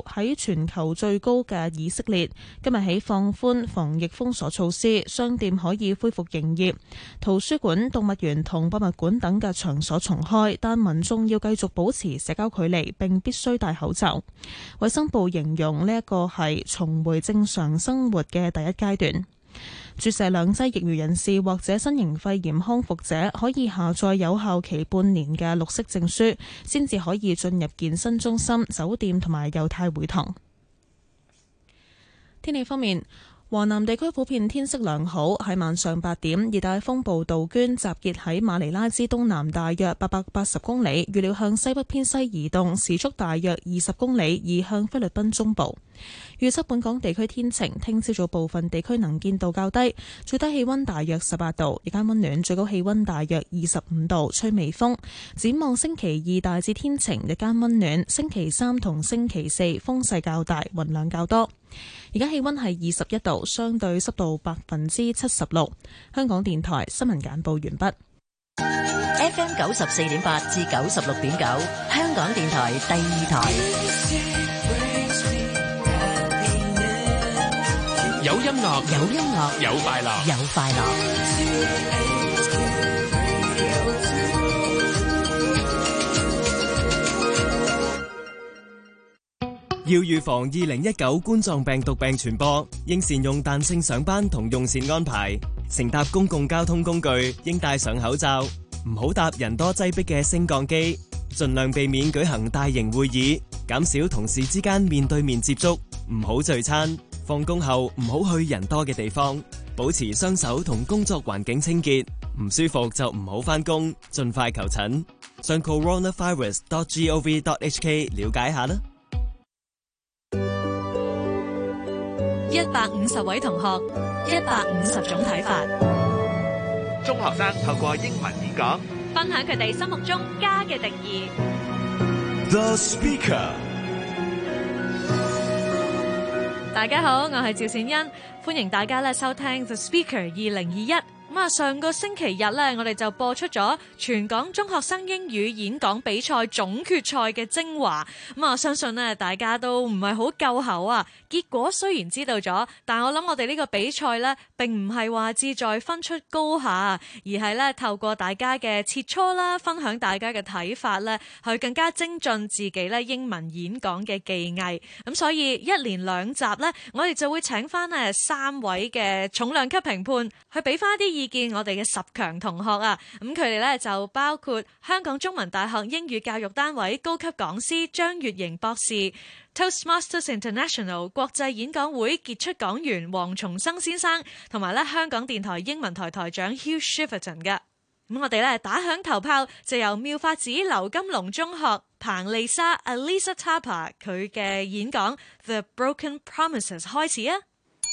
喺全球最高嘅以色列，今日起放寬防疫封鎖措施，商店可以恢復營業，圖書館、動物園同博物館等嘅場所重開，但民眾要繼續保持社交距離並必須戴口罩。衛生部形容呢一個係重回正常生活嘅第一階段。注射2劑疫苗人士或者新型肺炎康復者可以下載有效期半年嘅綠色證書，先至可以進入健身中心、酒店同埋猶太會堂。天氣方面，華南地區普遍天色良好，喺晚上8點，熱帶風暴杜鵑集結喺馬尼拉之東南大約880公里，預料向西北偏西移動，時速大約20公里，移向菲律賓中部。預測本港地區天晴，聽朝早部分地區能見度較低，最低氣溫大約18度，日間溫暖，最高氣溫大約25度，吹微風。展望星期2大致天晴，日間溫暖，星期3同星期4風勢較大，雲量較多。而家氣溫係21度，相對濕度76%。香港電台新聞簡報完畢。 FM 94.8至96.9，香港電台第2台。 有音樂， 有音樂， 有快樂， 有快樂。 要預防2019冠狀病毒病傳播，應善用彈性上班同用膳安排。乘搭公共交通工具應戴上口罩，唔好搭人多擠迫嘅升降機，盡量避免舉行大型會議，減少同事之間面對面接觸，唔好聚餐。放工後唔好去人多嘅地方，保持雙手同工作環境清潔。唔舒服就唔好返工，盡快求診。上 coronavirus.gov.hk 了解下啦。 150位同學，150種睇法。 中學生透過英文演講， 分享佢哋心目中家嘅定義。 The Speaker。 大家好，我係趙善恩，歡迎大家收聽 The Speaker 2021。上個星期日我哋就播出咗全港中學生英語演講比賽總決賽嘅精華。相信大家都唔係好夠喉啊。結果雖然知道咗，但我諗我哋呢個比賽並唔係話志在分出高下，而係透過大家嘅切磋啦，分享大家嘅睇法去更加精進自己英文演講嘅技藝。咁所以一連2集我哋就會請翻3位嘅重量級評判去俾翻啲意見我哋嘅10強同學啊。咁佢哋就包括香港中文大學英語教育單位高級講師張月瑩博士、Toastmasters International 國際演講會傑出講員黃松生先生，同埋香港電台英文台台長 Hugh Shriverton 嘅。咁我哋打響頭炮，就由妙法寺劉金龍中學彭麗莎 Alisa Tapa 佢嘅演講 The Broken Promises 開始啊。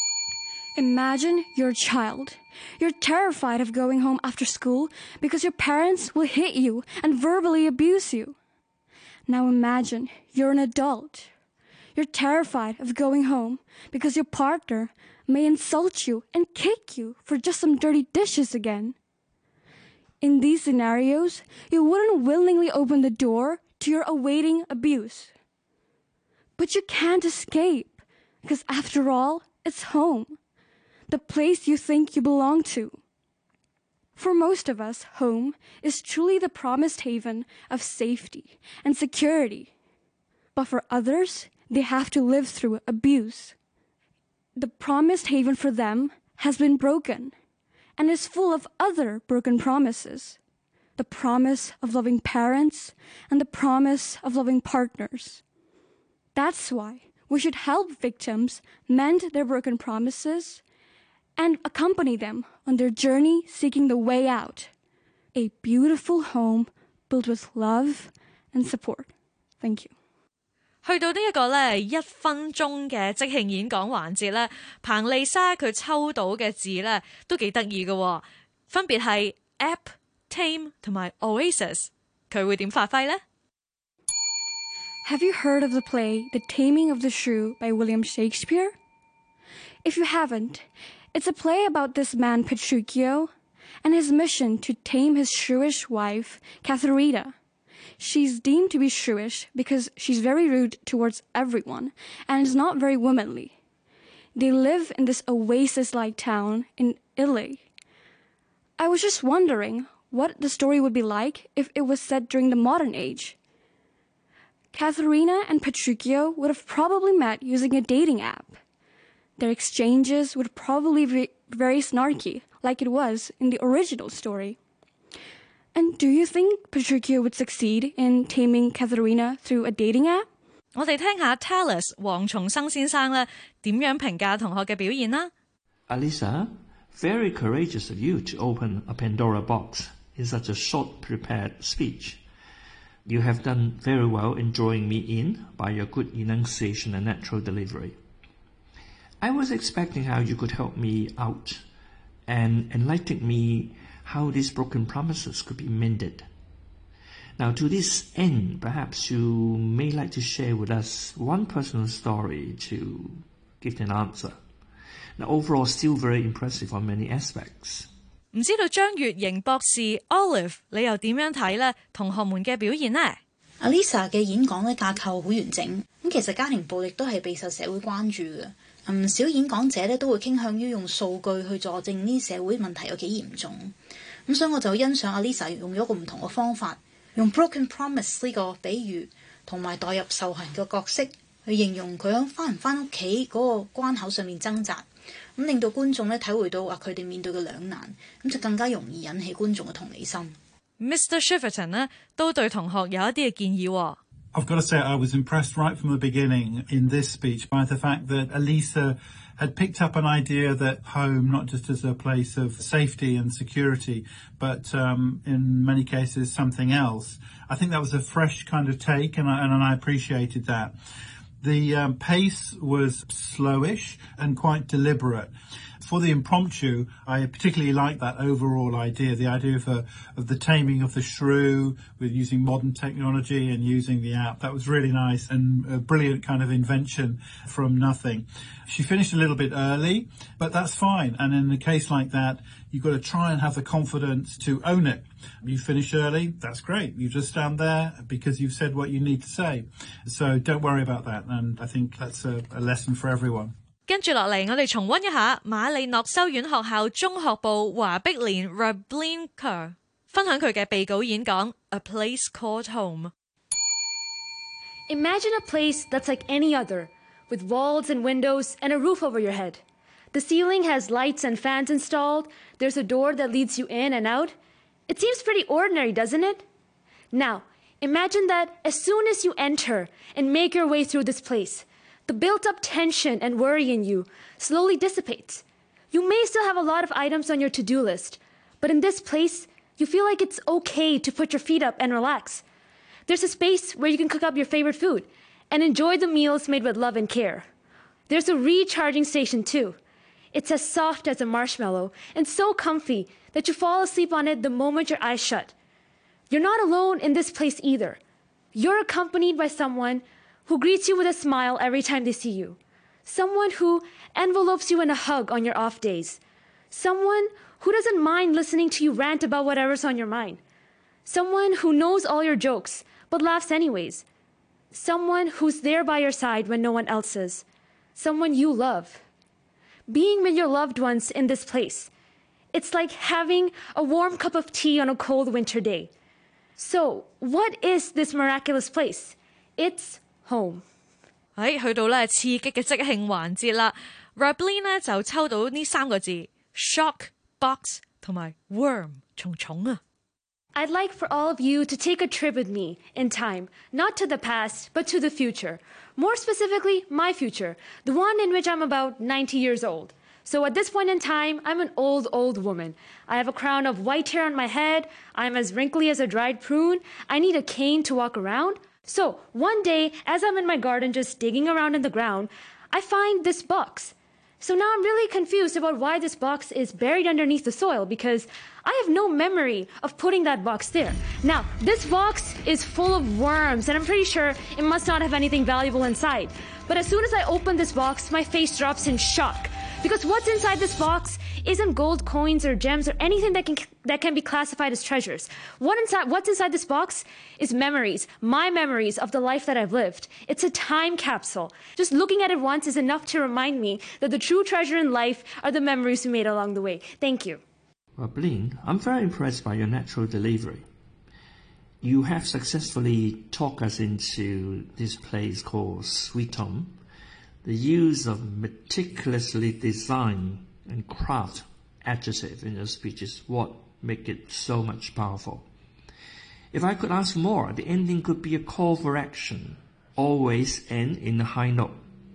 Imagine you're a child. You're terrified of going home after school because your parents will hit you and verbally abuse you. Now imagine you're an adult. You're terrified of going home because your partner may insult you and kick you for just some dirty dishes again. In these scenarios, you wouldn't willingly open the door to your awaiting abuse. But you can't escape because after all, it's home. The place you think you belong to. For most of us, home is truly the promised haven of safety and security. But for others, they have to live through abuse. The promised haven for them has been broken and is full of other broken promises. The promise of loving parents and the promise of loving partners. That's why we should help victims mend their broken promises and accompany them on their journey seeking the way out. A beautiful home built with love and support. Thank you. 去到呢一個1分鐘嘅即興演講環節彭麗莎佢抽到嘅字都幾得意嘅，分別係 app、tame 同埋 oasis。佢會點發揮呢？ Have you heard of the play The Taming of the Shrew by William Shakespeare? If you haven't, it's a play about this man Petruchio and his mission to tame his shrewish wife, Katharina. she's deemed to be shrewish because she's very rude towards everyone and is not very womanly. They live in this oasis-like town in Italy. I was just wondering what the story would be like if it was set during the modern age. Katharina and Petruchio would have probably met using a dating app. Their exchanges would probably be very snarky, like it was in the original story. And do you think Petruchio would succeed in taming Katharina through a dating app? 我哋聽下 Talis 黃松生先生咧點樣評價同學嘅表現啦。 Alisa, very courageous of you to open a Pandora box in such a short prepared speech. You have done very well in drawing me in by your good enunciation and natural delivery. I was expecting how you could help me out and enlighten me how these broken promises could be mended. Now, to this end, perhaps you may like to share with us one personal story to give an answer. Now, overall, still very impressive on many aspects. 唔知道張月瑩博士 Olive 你又點樣睇呢？同學們嘅表現呢？ Alisa 嘅演講咧架構好完整，咁其實家庭暴力都係備受社會關注嘅。唔少演講者咧都會傾向於用數據去佐證呢社會問題有幾嚴重。咁所以我就欣賞 Alisa 用咗一個唔同嘅方法，用 broken promise 呢個比喻同埋代入受害人嘅角色去形容佢響翻唔翻屋企嗰個關口上面掙扎。咁令到觀眾咧體會到佢哋面對嘅兩難，咁就更加容易引起觀眾嘅同理心。 Mr. Shiverton 呢都對同學有一啲嘅建議喎。 I've got to say I was impressed right from the beginning in this speech by the fact that Alisa had picked up an idea that home, not just as a place of safety and security, but in many cases something else. I think that was a fresh kind of take, and I appreciated that. The pace was slowish and quite deliberate. For the impromptu, I particularly like that overall idea, the idea of the taming of the shrew with using modern technology and using the app. That was really nice and a brilliant kind of invention from nothing. She finished a little bit early, but that's fine. And in a case like that, you've got to try and have the confidence to own it. You finish early, that's great. You just stand there because you've said what you need to say. So don't worry about that. And I think that's a lesson for everyone. 跟住落嚟，我哋重溫一下馬利諾修院學校中學部華碧蓮 Rablinka 分享佢嘅備稿演講 A Place Called Home. Imagine a place that's like any other, with walls and windows and a roof over your head. The ceiling has lights and fans installed. There's a door that leads you in and out. It seems pretty ordinary, doesn't it? Now, imagine that as soon as you enter and make your way through this place, the built-up tension and worry in you slowly dissipates. You may still have a lot of items on your to-do list, but in this place, you feel like it's okay to put your feet up and relax. There's a space where you can cook up your favorite food and enjoy the meals made with love and care. There's a recharging station too. It's as soft as a marshmallow and so comfy that you fall asleep on it the moment your eyes shut. You're not alone in this place either. You're accompanied by someone who greets you with a smile every time they see you. Someone who envelopes you in a hug on your off days. Someone who doesn't mind listening to you rant about whatever's on your mind. Someone who knows all your jokes but laughs anyways. Someone who's there by your side when no one else is. Someone you love. Being with your loved ones in this place, it's like having a warm cup of tea on a cold winter day. So, what is this miraculous place? It's home. 去到咧刺激嘅即興環節啦 Rablin 咧就抽到呢三個字 shock, box 同埋 worm 重重啊 I'd like for all of you to take a trip with me in time, not to the past, but to the future. More specifically, my future, the one in which I'm about 90 years old. So at this point in time, I'm an old woman. I have a crown of white hair on my head. I'm as wrinkly as a dried prune. I need a cane to walk around. So one day, as I'm in my garden just digging around in the ground, I find this box. So now I'm really confused about why this box is buried underneath the soil because I have no memory of putting that box there. Now, this box is full of worms and I'm pretty sure it must not have anything valuable inside. But as soon as I open this box, my face drops in shock Because what's inside this box isn't gold coins or gems or anything that can be classified as treasures. What's inside this box is memories, my memories of the life that I've lived. It's a time capsule. Just looking at it once is enough to remind me that the true treasure in life are the memories we made along the way. Thank you. Roblin, I'm very impressed by your natural delivery. You have successfully talked us into this place called Sweet Home. The use of meticulously designed and craft adjective in your speech is what make it so much powerful. If I could ask more, the ending could be a call for action, always end in a high note.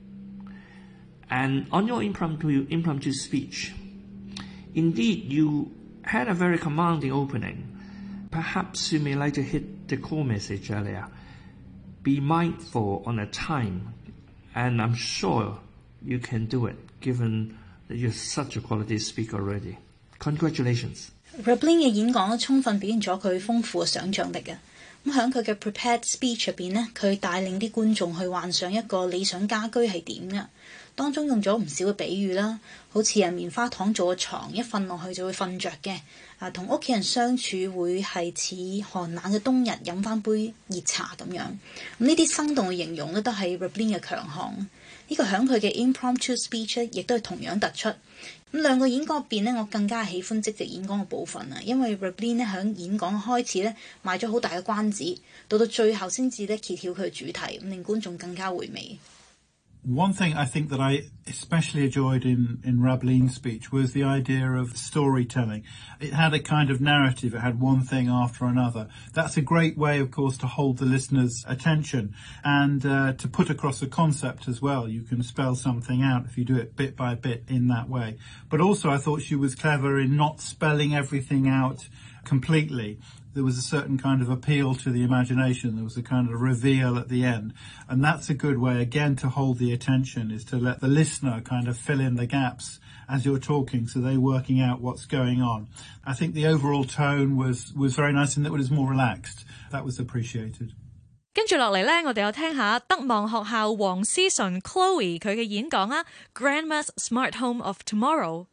And on your impromptu speech, indeed you had a very commanding opening. Perhaps you may like to hit the core message earlier. Be mindful on the time, and I'm sure you can do it, given that you're such a quality speaker already. Congratulations. Roblin 嘅演講充分表現咗佢豐富嘅想像力啊！咁喺佢嘅 prepared speech 入邊呢，佢帶領啲觀眾去幻想一個理想家居係點嘅，當中用咗唔少嘅比喻啦，好似棉花糖做嘅床，一瞓落去就會瞓着嘅。同屋企人相處會係似寒冷嘅冬日飲翻杯熱茶咁樣。咁呢啲生動嘅形容咧，都係 Roblin 嘅強項。呢個響佢嘅 impromptu speech 咧，亦都係同樣突出。咁兩個演講入邊咧，我更加喜歡即席演講嘅部分啊，因為 Roblin 咧響演講開始咧賣咗好大嘅關子，到最後先至咧揭曉佢嘅主題，咁令觀眾更加回味。 One thing I think that I especially enjoyed in Roblin's speech was the idea of storytelling. It had a kind of narrative. It had one thing after another. That's a great way, of course, to hold the listener's attention and to put across a concept as well. You can spell something out if you do it bit by bit in that way. But also I thought she was clever in not spelling everything out completely. There was a certain kind of appeal to the imagination. There was a kind of reveal at the end. And that's a good way, again, to hold the attention, is to let the listener kind of fill in the gaps as you're talking, so they're working out what's going on. I think the overall tone was very nice and that it was more relaxed. That was appreciated. 跟住落嚟呢，我哋又聽下德望學校黃思純 Chloe 佢嘅演講啊 Grandma's Smart Home of Tomorrow.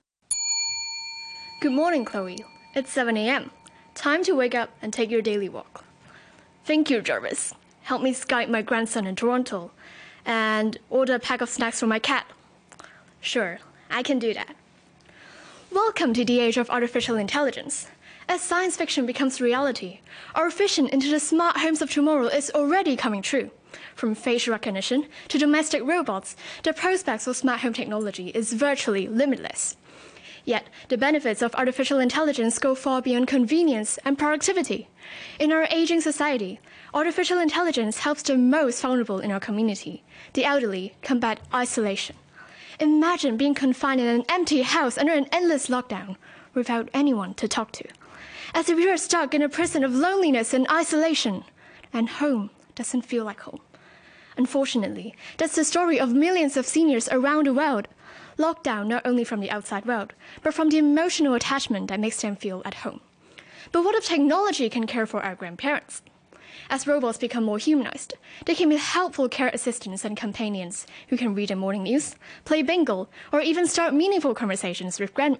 Good morning, Chloe. It's 7 a.m. Time to wake up and take your daily walk. Thank you, Jarvis. Help me Skype my grandson in Toronto and order a pack of snacks for my cat. Sure, I can do that. Welcome to the age of artificial intelligence. As science fiction becomes reality, our vision into the smart homes of tomorrow is already coming true. From facial recognition to domestic robots, the prospects of smart home technology is virtually limitless. Yet, the benefits of artificial intelligence go far beyond convenience and productivity. In our aging society, artificial intelligence helps the most vulnerable in our community, the elderly, combat isolation. Imagine being confined in an empty house under an endless lockdown, without anyone to talk to. As if you are stuck in a prison of loneliness and isolation, and home doesn't feel like home. Unfortunately, that's the story of millions of seniors around the world, locked down not only from the outside world, but from the emotional attachment that makes them feel at home. But what if technology can care for our grandparents? As robots become more humanized, they can be helpful care assistants and companions who can read the morning news, play bingo, or even start meaningful conversations with grandma.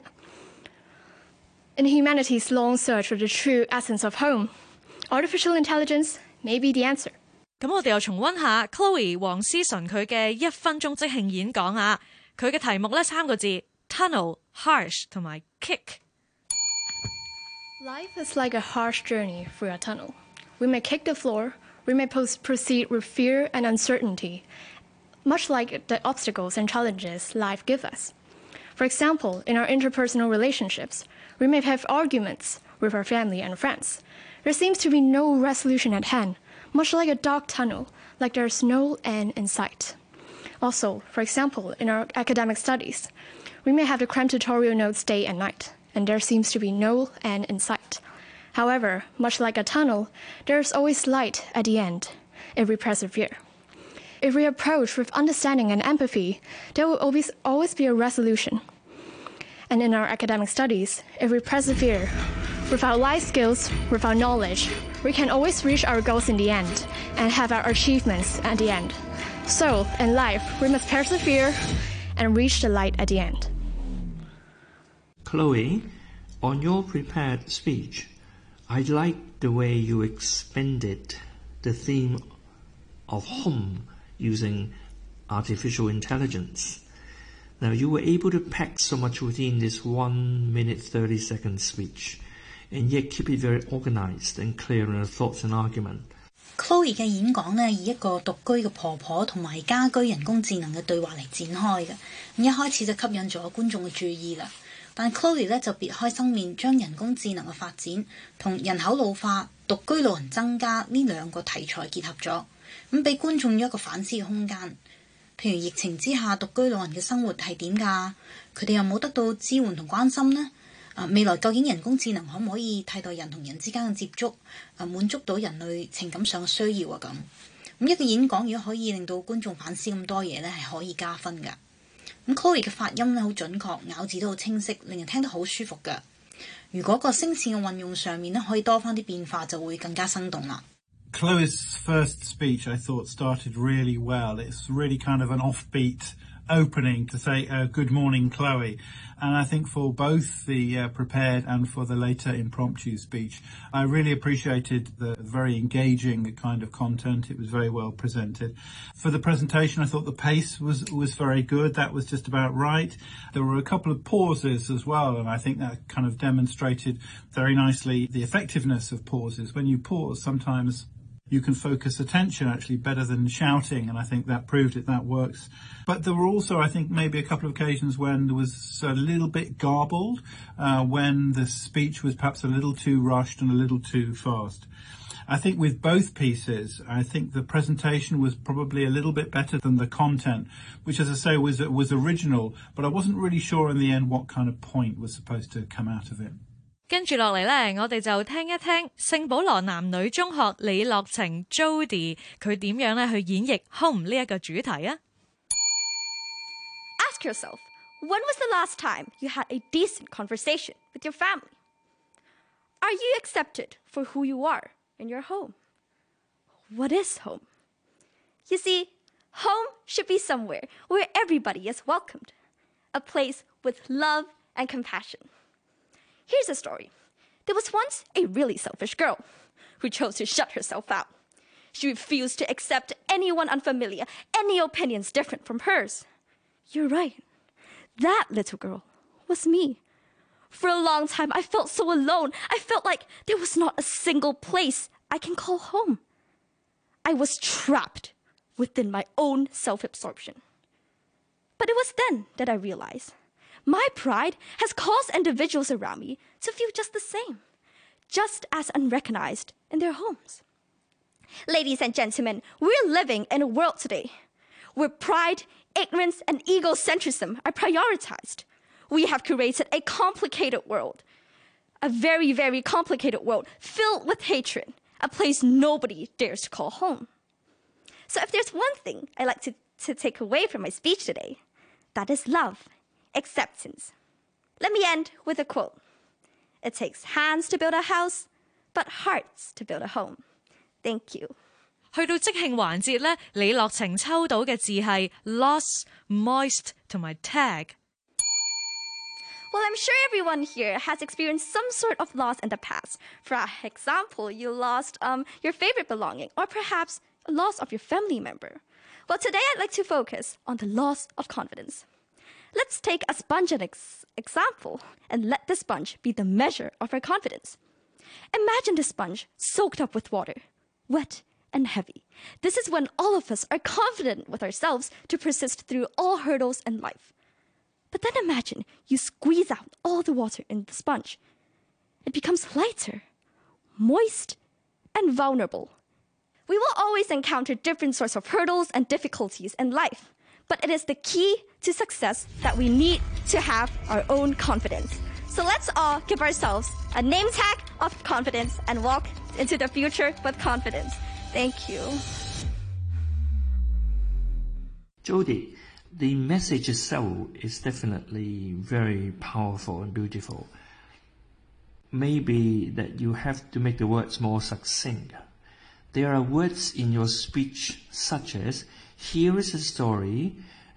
In humanity's long search for the true essence of home, artificial intelligence may be the answer. 咁我哋又重溫下 Chloe 黃思純佢嘅1分鐘即興演講啊！佢嘅題目呢3個字 tunnel, harsh 同埋 kick. Life is like a harsh journey through a tunnel. We may kick the floor, we may proceed with fear and uncertainty, much like the obstacles and challenges life gives us. For example, in our interpersonal relationships, we may have arguments with our family and friends. There seems to be no resolution at hand, much like a dark tunnel, like there's no end in sight. Also, for example, in our academic studies, we may have to cram tutorial notes day and night, and there seems to be no end in sight. However, much like a tunnel, there's always light at the end, if we persevere. If we approach with understanding and empathy, there will always be a resolution. And in our academic studies, if we persevere, with our life skills, with our knowledge, we can always reach our goals in the end and have our achievements at the end. So, in life, we must persevere and reach the light at the end. Chloe, on your prepared speech, I like the way you expanded the theme of home using artificial intelligence. Now, you were able to pack so much within this 1 minute 30-second speech, and yet keep it very organized and clear in the thoughts and argument. Chloe 嘅演講呢，以一個獨居嘅婆婆同埋家居人工智能嘅對話嚟展開嘅，咁一開始就吸引咗觀眾嘅注意啦。但 Chloe 呢就別開生面，將人工智能嘅發展同人口老化、獨居老人增加呢兩個題材結合咗，咁俾觀眾有一個反思嘅空間。譬如疫情之下，獨居老人嘅生活係點㗎？佢哋有冇得到支援同關心呢？未來究竟人工智能可唔可以替代人同人之間嘅接觸？滿足到人類情感上嘅需要啊咁。咁一個演講如果可以令到觀眾反思咁多嘢呢，係可以加分㗎。咁 Chloe 嘅發音呢好準確，咬字都好清晰，令人聽得好舒服㗎。如果個聲線嘅運用上面呢，可以多返啲變化，就會更加生動啦。 Chloe's first speech, I thought, started really well. It's really kind of an offbeat opening to say, good morning, Chloe. And I think for both the prepared and for the later impromptu speech, I really appreciated the very engaging kind of content. It was very well presented. For the presentation, I thought the pace was very good. That was just about right. There were a couple of pauses as well, and I think that kind of demonstrated very nicely the effectiveness of pauses. When you pause, sometimes you can focus attention actually better than shouting, and I think that proved it, that works. But there were also, I think, maybe a couple of occasions when there was a little bit garbled, when the speech was perhaps a little too rushed and a little too fast. I think with both pieces, I think the presentation was probably a little bit better than the content, which, as I say, was original, but I wasn't really sure in the end what kind of point was supposed to come out of it. 跟住落嚟呢，我哋就聽一聽聖保羅男女中學李樂晴 Jody 佢點樣咧去演繹 home 呢一個主題啊。 Ask yourself, when was the last time you had a decent conversation with your family? Are you accepted for who you are in your home? What is home? You see, home should be somewhere where everybody is welcomed, a place with love and compassion. Here's a story. There was once a really selfish girl who chose to shut herself out. She refused to accept anyone unfamiliar, any opinions different from hers. You're right. That little girl was me. For a long time, I felt so alone. I felt like there was not a single place I can call home. I was trapped within my own self-absorption. But it was then that I realized my pride has caused individuals around me to feel just the same, just as unrecognized in their homes. Ladies and gentlemen, we're living in a world today where pride, ignorance, and egocentrism are prioritized. We have created a complicated world, a very, very complicated world filled with hatred, a place nobody dares to call home. So if there's one thing I like to take away from my speech today, that is love. Acceptance. Let me end with a quote. It takes hands to build a house, but hearts to build a home. Thank you. 去到即興環節咧，李樂晴抽到嘅字係 loss, moist 同埋 tag。 Well, I'm sure everyone here has experienced some sort of loss in the past. For example, you lost your favorite belonging, or perhaps a loss of your family member. Well, today I'd like to focus on the loss of confidence. Let's take a sponge as an example and let the sponge be the measure of our confidence. Imagine the sponge soaked up with water, wet and heavy. This is when all of us are confident with ourselves to persist through all hurdles in life. But then imagine you squeeze out all the water in the sponge. It becomes lighter, moist, and vulnerable. We will always encounter different sorts of hurdles and difficulties in life. But it is the key to success that we need to have our own confidence. So let's all give ourselves a name tag of confidence and walk into the future with confidence. Thank you. Jody, the message itself is definitely very powerful and beautiful. Maybe that you have to make the words more succinct. There are words in your speech such as, here is a story,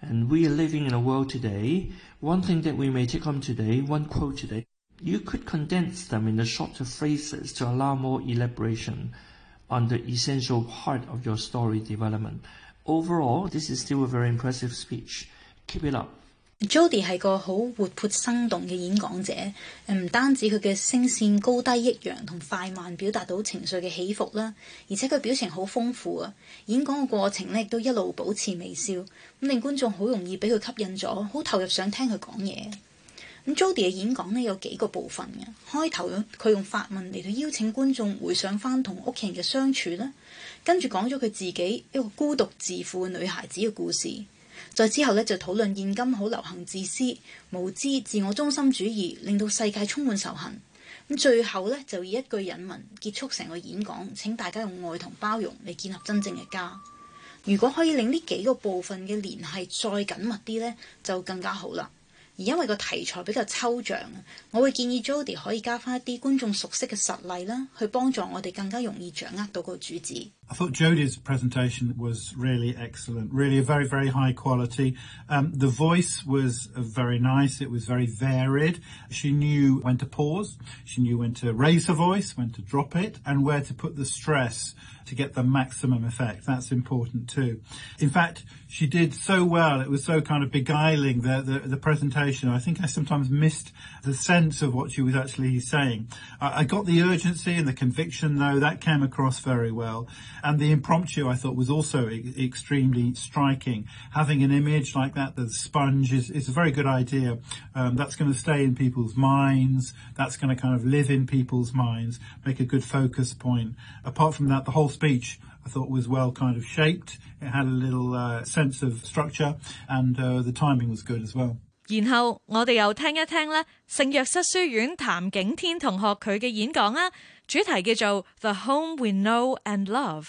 And we are living in a world today, one thing that we may take home today, one quote today, you could condense them into shorter phrases to allow more elaboration on the essential part of your story development. Overall, this is still a very impressive speech. Keep it up. Jodie 係個好活潑生動嘅演講者，唔單止佢嘅聲線高低抑揚同快慢表達到情緒嘅起伏啦，而且佢表情好豐富啊！演講嘅過程呢亦都一路保持微笑，咁令觀眾好容易俾佢吸引咗，好投入想聽佢講嘢。咁 Jodie 嘅演講呢有幾個部分嘅，開頭佢用法文嚟到邀請觀眾回想翻同屋企人嘅相處啦，跟住講咗佢自己一個孤獨自負嘅女孩子嘅故事。再之後呢，就討論現今好流行自私、無知、自我中心主義，令到世界充滿仇恨。咁最後呢，就以一句引文結束成個演講，請大家用愛同包容嚟建立真正嘅家。如果可以令呢幾個部分嘅聯繫再緊密啲呢，就更加好啦。而因為個題材比較抽象，我會建議 Jodie 可以加翻一啲觀眾熟悉嘅實例啦，去幫助我哋更加容易掌握到個主旨。 I thought Jodie's presentation was really excellent, really a very, very high quality. The voice was very nice. It was very varied. She knew when to pause. She knew when to raise her voice, when to drop it, and where to put the stress to get the maximum effect. That's important too. In fact, she did so well. It was so kind of beguiling, the presentation. I think I sometimes missed the sense of what she was actually saying. I got the urgency and the conviction, though. That came across very well. And the impromptu, I thought, was also extremely striking. Having an image like that, the sponge, is a very good idea. That's going to stay in people's minds. That's going to kind of live in people's minds, make a good focus point. Apart from that, the whole speech, I thought, was well kind of shaped. It had a little sense of structure, and the timing was good as well. 然後我哋又聽一聽咧聖約瑟書院譚景天同學佢嘅演講啊，主題叫做 The Home We Know and Love。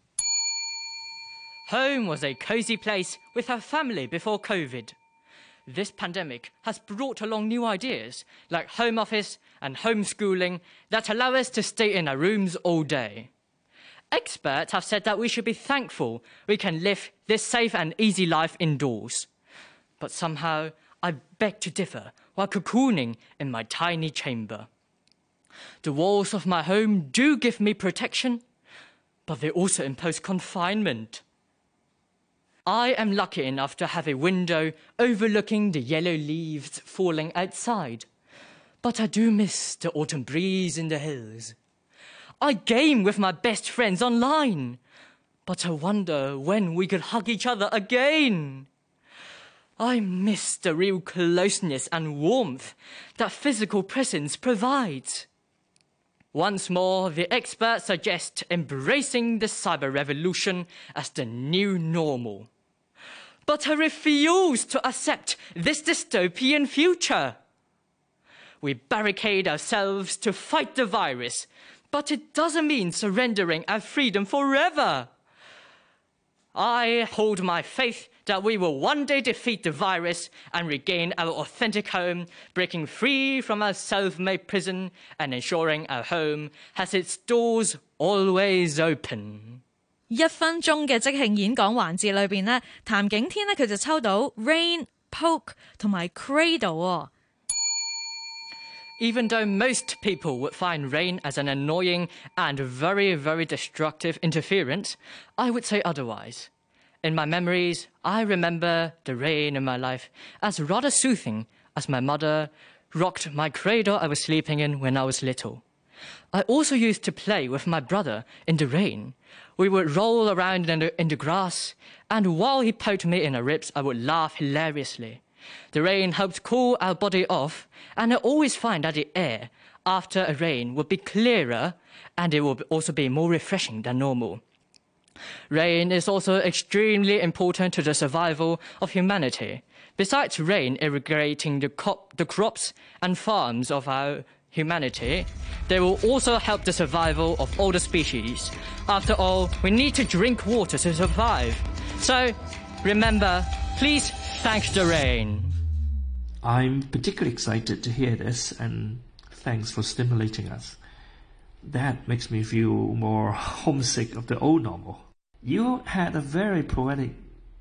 Home was a cozy place with her family before COVID. This pandemic has brought along new ideas like home office and homeschooling that allow us to stay in our rooms all day. Experts have said that we should be thankful we can live this safe and easy life indoors. But somehow, I beg to differ while cocooning in my tiny chamber. The walls of my home do give me protection, but they also impose confinement. I am lucky enough to have a window overlooking the yellow leaves falling outside, but I do miss the autumn breeze in the hills. I game with my best friends online, but I wonder when we could hug each other again. I miss the real closeness and warmth that physical presence provides. Once more, the experts suggest embracing the cyber revolution as the new normal. But I refuse to accept this dystopian future. We barricade ourselves to fight the virus, but it doesn't mean surrendering our freedom forever. I hold my faith that we will one day defeat the virus and regain our authentic home, breaking free from our self-made prison and ensuring our home has its doors always open. 1分鐘嘅即興演講環節裏邊呢，譚景天呢佢就抽到 Rain、Poke 同埋 Cradle 喎。 Even though most people would find rain as an annoying and very, very destructive interference, I would say otherwise. In my memories, I remember the rain in my life as rather soothing as my mother rocked my cradle I was sleeping in when I was little. I also used to play with my brother in the rain. We would roll around in the grass, and while he poked me in the ribs, I would laugh hilariously. The rain helped cool our body off, and I always find that the air after a rain would be clearer, and it would also be more refreshing than normal. Rain is also extremely important to the survival of humanity. Besides rain irrigating the crops and farms of our humanity, they will also help the survival of all the species. After all, we need to drink water to survive. So, remember, please thank the rain. I'm particularly excited to hear this, and thanks for stimulating us. That makes me feel more homesick of the old normal. You had a very poetic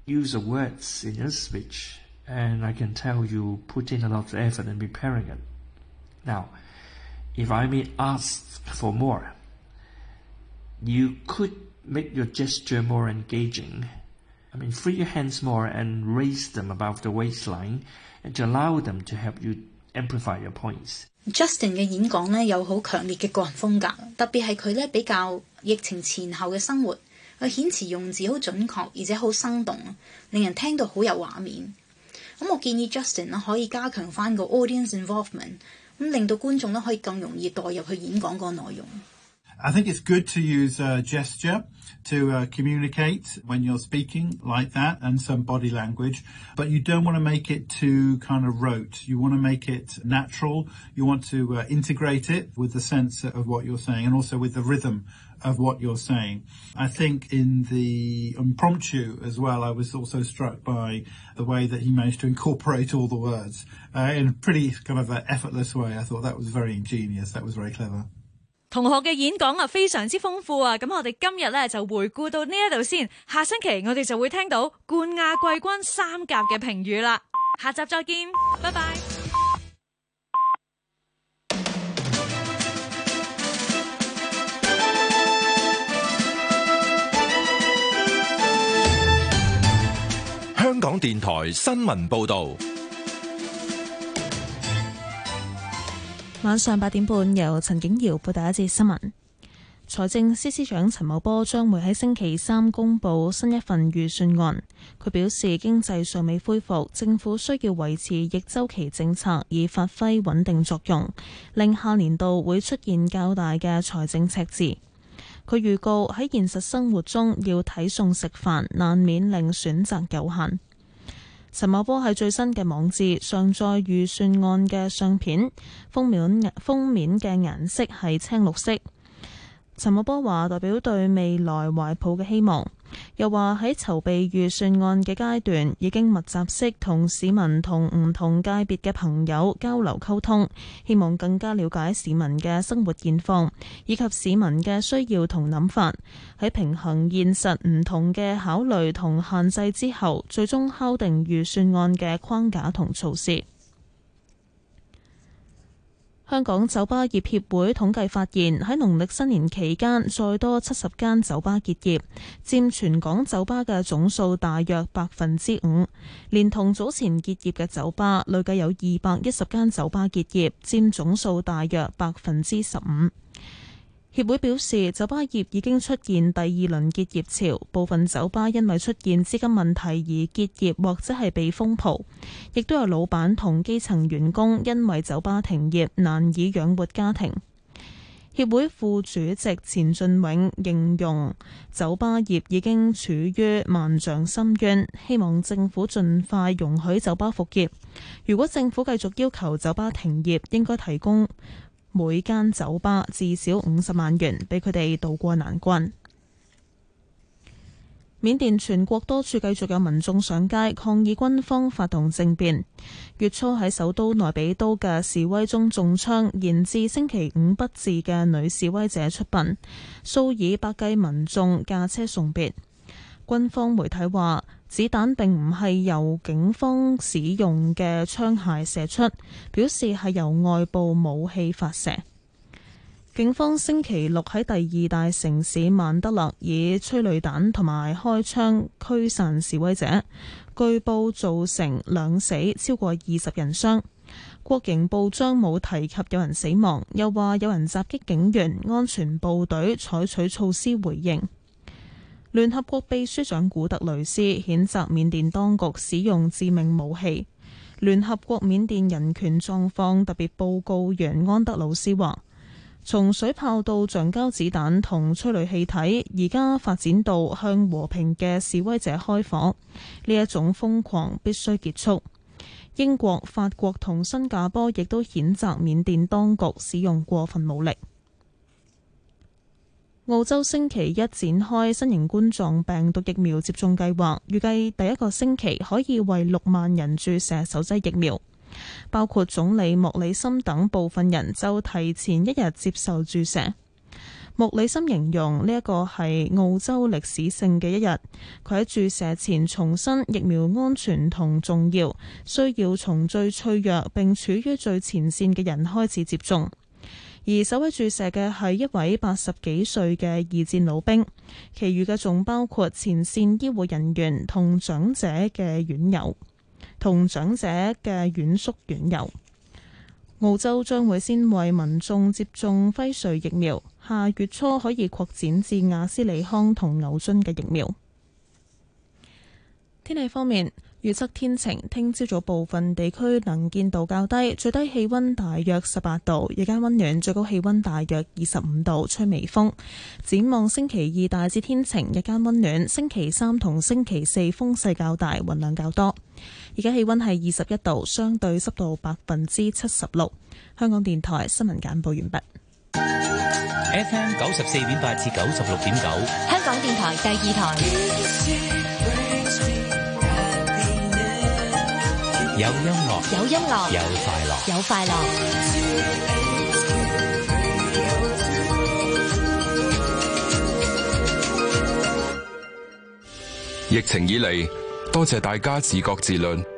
use of words in your speech, and I can tell you put in a lot of effort in preparing it. Now, if I may ask for more, you could make your gesture more engaging. I mean, free your hands more and raise them above the waistline and to allow them to help you amplify your points. Justin 嘅演講呢有好強烈嘅個人風格，特別係佢呢比較疫情前後嘅生活，佢遣詞用字好準確，而且好生動，令人聽到好有畫面。咁我建議 Justin 呢可以加強翻個 audience involvement， 咁令到觀眾呢可以更容易代入去演講個內容。 I think it's good to use gesture to communicate when you're speaking like that, and some body language, but you don't want to make it too kind of rote. You want to make it natural. You want to integrate it with the sense of what you're saying and also with the rhythm of what you're saying. I think in the impromptu as well, I was also struck by the way that he managed to incorporate all the words in a pretty kind of effortless way. I thought that was very ingenious. That was very clever. 同學嘅演講啊非常之豐富啊，咁我哋今日咧就回顧到呢一度先，下星期我哋就會聽到冠亞季軍三甲嘅評語啦，下集再見，拜拜。 香港電台新聞報導。 晚上8點半，由陳景瑤報第一節新聞。財政司司長陳茂波將會喺星期三公布新一份預算案。佢表示，經濟尚未恢復，政府需要維持逆周期政策，以發揮穩定作用，令下年度會出現較大嘅財政赤字。佢預告喺現實生活中要睇餸食飯，難免令選擇有限。陳茂波喺最新嘅網誌上載預算案嘅相片，封面嘅顏色係青綠色。陳茂波話代表對未來懷抱嘅希望，又話喺籌備預算案嘅階段已經密集式同市民同唔同界別嘅朋友交流溝通，希望更加了解市民嘅生活現況以及市民嘅需要同諗法，喺平衡現實唔同嘅考慮同限制之後，最終敲定預算案嘅框架同措施。香港酒吧業協會統計發現，喺農曆新年期間，再多70間酒吧結業，佔全港酒吧嘅總數大約5%。連同早前結業嘅酒吧，累計有210間酒吧結業，佔總數大約15%。協會表示，酒吧業已經出現第二輪結業潮，部分酒吧因為出現資金問題而結業或者係被封鋪，亦都有老闆同基層員工因為酒吧停業難以養活家庭。協會副主席錢俊永形容酒吧業已經處於萬丈深淵，希望政府盡快容許酒吧復業。如果政府繼續要求酒吧停業，應該提供每間酒吧至少50萬元，俾佢哋渡過難關。緬甸全國多處繼續有民眾上街抗議軍方發動政變。月初喺首都內比都嘅示威中中槍，延至星期五不治嘅女示威者出殯，數以百計民眾駕車送別。軍方媒體話，子彈並唔係由警方使用嘅槍械射出，表示係由外部武器發射。警方星期六喺第二大城市曼德勒以催淚彈同埋開槍驅散示威者，據報造成2死，超過20人傷。國營報章冇提及有人死亡，又話有人襲擊警員，安全部隊採取措施回應。聯合國秘書長古特雷斯譴責緬甸當局使用致命武器。聯合國緬甸人權狀況特別報告員安德魯斯話，從水炮到橡膠子彈同催淚氣體，而家發展到向和平嘅示威者開火，呢一種瘋狂必須結束。英國、法國同新加坡亦都譴責緬甸當局使用過分武力。澳洲星期一展開新型冠狀病毒疫苗接種計劃，預計第一個星期可以為6萬人注射首劑疫苗，包括總理莫里森等部分人就提前1日接受注射。 穆里森形容呢一個係澳洲歷史性嘅一日。佢喺注射前重申疫苗安全同重要，需要從最脆弱並處於最前線嘅人開始接種。而首位注射嘅係一位80幾歲嘅二戰老兵，其餘嘅仲包括前線醫護人員同長者嘅院友，同長者嘅院宿院友。澳洲將會先為民眾接種輝瑞疫苗，下月初可以擴展至亞斯利康同牛津嘅疫苗。天氣方面，預測天晴，聽朝早部分地區能見度較低，最低氣溫大約18度，日間溫暖，最高氣溫大約25度，吹微風。展望星期二大致天晴，日間溫暖，星期三同星期四風勢較大，雲量較多。而家氣溫係21度，相對濕度76%。香港電台新聞簡報完畢。 FM 94.8至96.9， 香港電台第二台。 有音樂， 有音樂， 有快樂， 有快樂。 疫情以嚟，多謝大家自覺自律，